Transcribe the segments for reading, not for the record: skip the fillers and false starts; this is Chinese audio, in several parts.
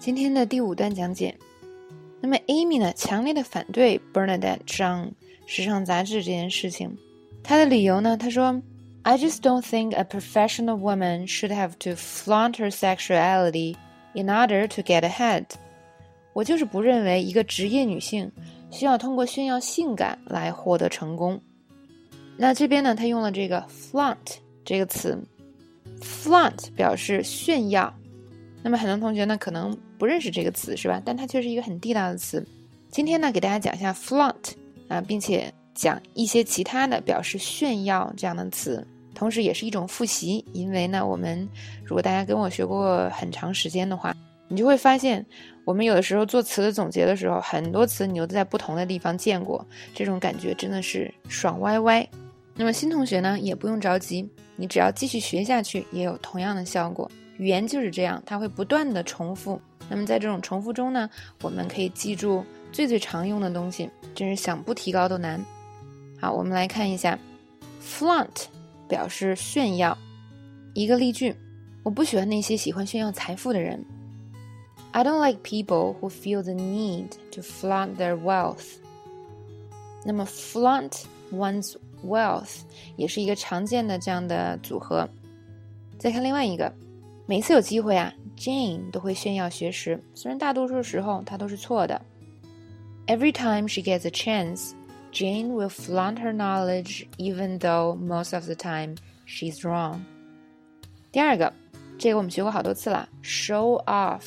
今天的第5段讲解。那么 Amy 呢，强烈的反对 Bernadette 上时尚杂志这件事情。她的理由呢，她说 I just don't think a professional woman should have to flaunt her sexuality in order to get ahead. 我就是不认为一个职业女性需要通过炫耀性感来获得成功。那这边呢，她用了这个 flaunt 这个词。flaunt 表示炫耀，那么很多同学呢可能不认识这个词是吧？但它却是一个很地道的词。今天呢给大家讲一下 flaunt 并且讲一些其他的表示炫耀这样的词，同时也是一种复习。因为呢我们如果大家跟我学过很长时间的话，你就会发现我们有的时候做词的总结的时候，很多词你都在不同的地方见过，这种感觉真的是爽歪歪。那么新同学呢也不用着急，你只要继续学下去也有同样的效果。语言就是这样，它会不断的重复，那么在这种重复中呢，我们可以记住最常用的东西，真是想不提高都难。好，我们来看一下 flaunt 表示炫耀。一个例句，我不喜欢那些喜欢炫耀财富的人。 I don't like people who feel the need to flaunt their wealth. 那么 flaunt one's wealth 也是一个常见的这样的组合。再看另外一个，每次有机会Jane 都会炫耀学识，虽然大多数时候她都是错的。 Every time she gets a chance, Jane will flaunt her knowledge even though most of the time she's wrong. 第二个，这个我们学过好多次了， show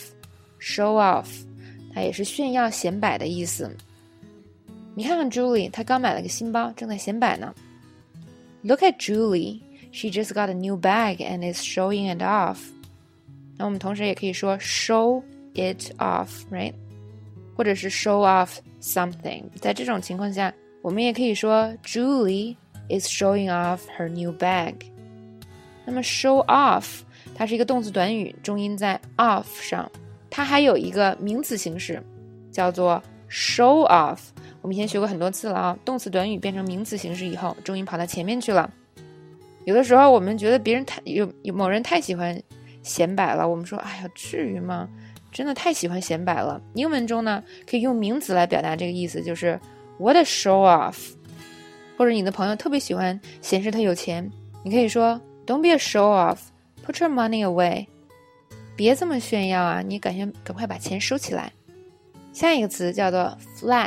off 它也是炫耀显摆的意思。你看看 Julie， 她刚买了个新包，正在显摆呢。 Look at Julie, she just got a new bag and is showing it off. 那我们同时也可以说 show it off, right? 或者是 show off something. 在这种情况下，我们也可以说 Julie is showing off her new bag. 那么 show off 它是一个动词短语，重音在 off 上。它还有一个名词形式叫做 show off。我们以前学过很多次了动词短语变成名词形式以后，重音跑到前面去了。有的时候我们觉得别人有某人太喜欢显摆了，我们说哎呀至于吗？真的太喜欢显摆了。英文中呢可以用名词来表达这个意思，就是 what a show off。 或者你的朋友特别喜欢显示他有钱，你可以说 Don't be a show off, put your money away。 别这么炫耀你赶快把钱收起来。下一个词叫做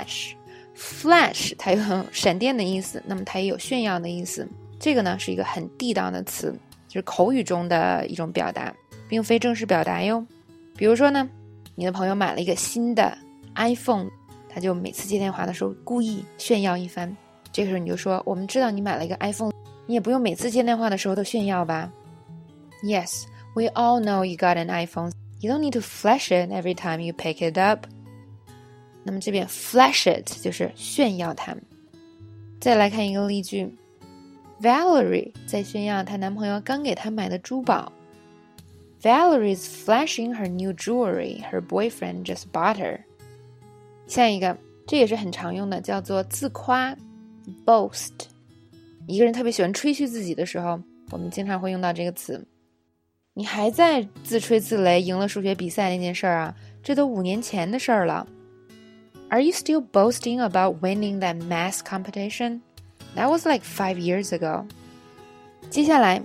flash 它有闪电的意思，那么它也有炫耀的意思。这个呢是一个很地道的词，就是口语中的一种表达，并非正式表达哟。比如说呢，你的朋友买了一个新的 iPhone， 他就每次接电话的时候故意炫耀一番。这个时候你就说，我们知道你买了一个 iPhone， 你也不用每次接电话的时候都炫耀吧。 Yes, we all know you got an iPhone. You don't need to flash it every time you pick it up. 那么这边 flash it 就是炫耀它。再来看一个例句， Valerie 在炫耀她男朋友刚给她买的珠宝。 Valerie is flashing her new jewelry her boyfriend just bought her. 下一个，这也是很常用的，叫做自夸 boast。 一个人特别喜欢吹嘘自己的时候，我们经常会用到这个词。你还在自吹自擂赢了数学比赛那件事儿这都5年前的事儿了。 Are you still boasting about winning that math competition? That was like 5 years ago. 接下来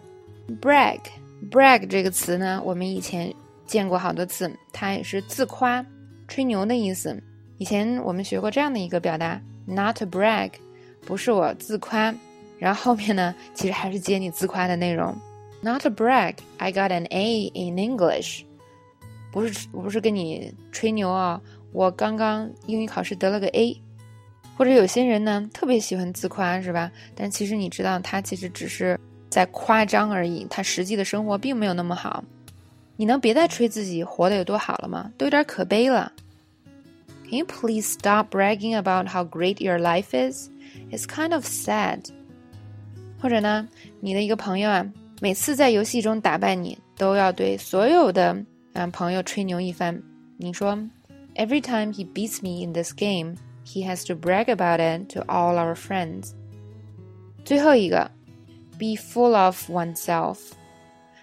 brag 这个词呢，我们以前见过好多次，它也是自夸吹牛的意思。以前我们学过这样的一个表达 not to brag， 不是我自夸，然后后面呢其实还是接你自夸的内容。 Not to brag, I got an A in English. 不是跟你吹牛我刚刚英语考试得了个 A。 或者有些人呢特别喜欢自夸是吧，但其实你知道他其实只是在夸张而已，他实际的生活并没有那么好。你能别再吹自己活得有多好了吗？都有点可悲了。 Can you please stop bragging about how great your life is? It's kind of sad. 或者呢，你的一个朋友每次在游戏中打败你，都要对所有的朋友吹牛一番。你说 Every time he beats me in this game, he has to brag about it to all our friends. 最后一个 be full of oneself.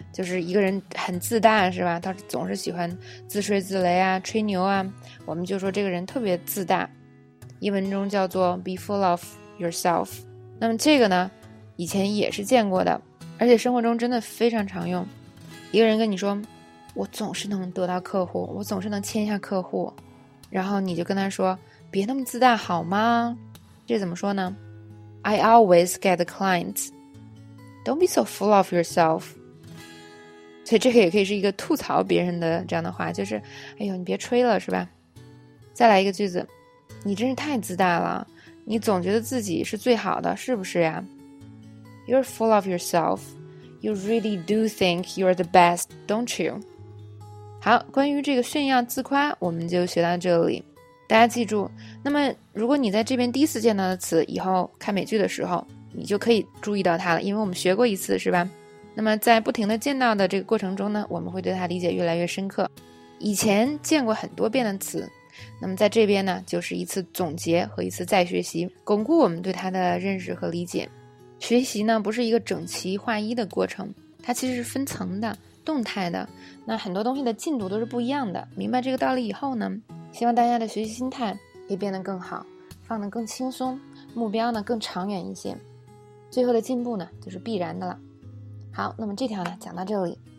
就是一个人很自大是吧，他总是喜欢自吹自擂啊，吹牛啊，我们就说这个人特别自大，英文中叫做 be full of yourself。 那么这个呢以前也是见过的，而且生活中真的非常常用。一个人跟你说我总是能得到客户，我总是能签下客户，然后你就跟他说别那么自大好吗？这怎么说呢？ I always get the clients. Don't be so full of yourself. 所以这个也可以是一个吐槽别人的这样的话，就是哎呦你别吹了是吧。再来一个句子，你真是太自大了，你总觉得自己是最好的是不是呀？ You're full of yourself. You really do think you're the best, don't you? 好，关于这个炫耀自夸我们就学到这里。大家记住，那么如果你在这边第一次见到的词，以后看美剧的时候你就可以注意到它了，因为我们学过一次是吧。那么在不停的见到的这个过程中呢，我们会对它理解越来越深刻。以前见过很多遍的词，那么在这边呢就是一次总结和一次再学习，巩固我们对它的认识和理解。学习呢不是一个整齐划一的过程，它其实是分层的，动态的，那很多东西的进度都是不一样的。明白这个道理以后呢，希望大家的学习心态可以变得更好，放得更轻松，目标呢更长远一些，最后的进步呢就是必然的了。好，那么这条呢讲到这里。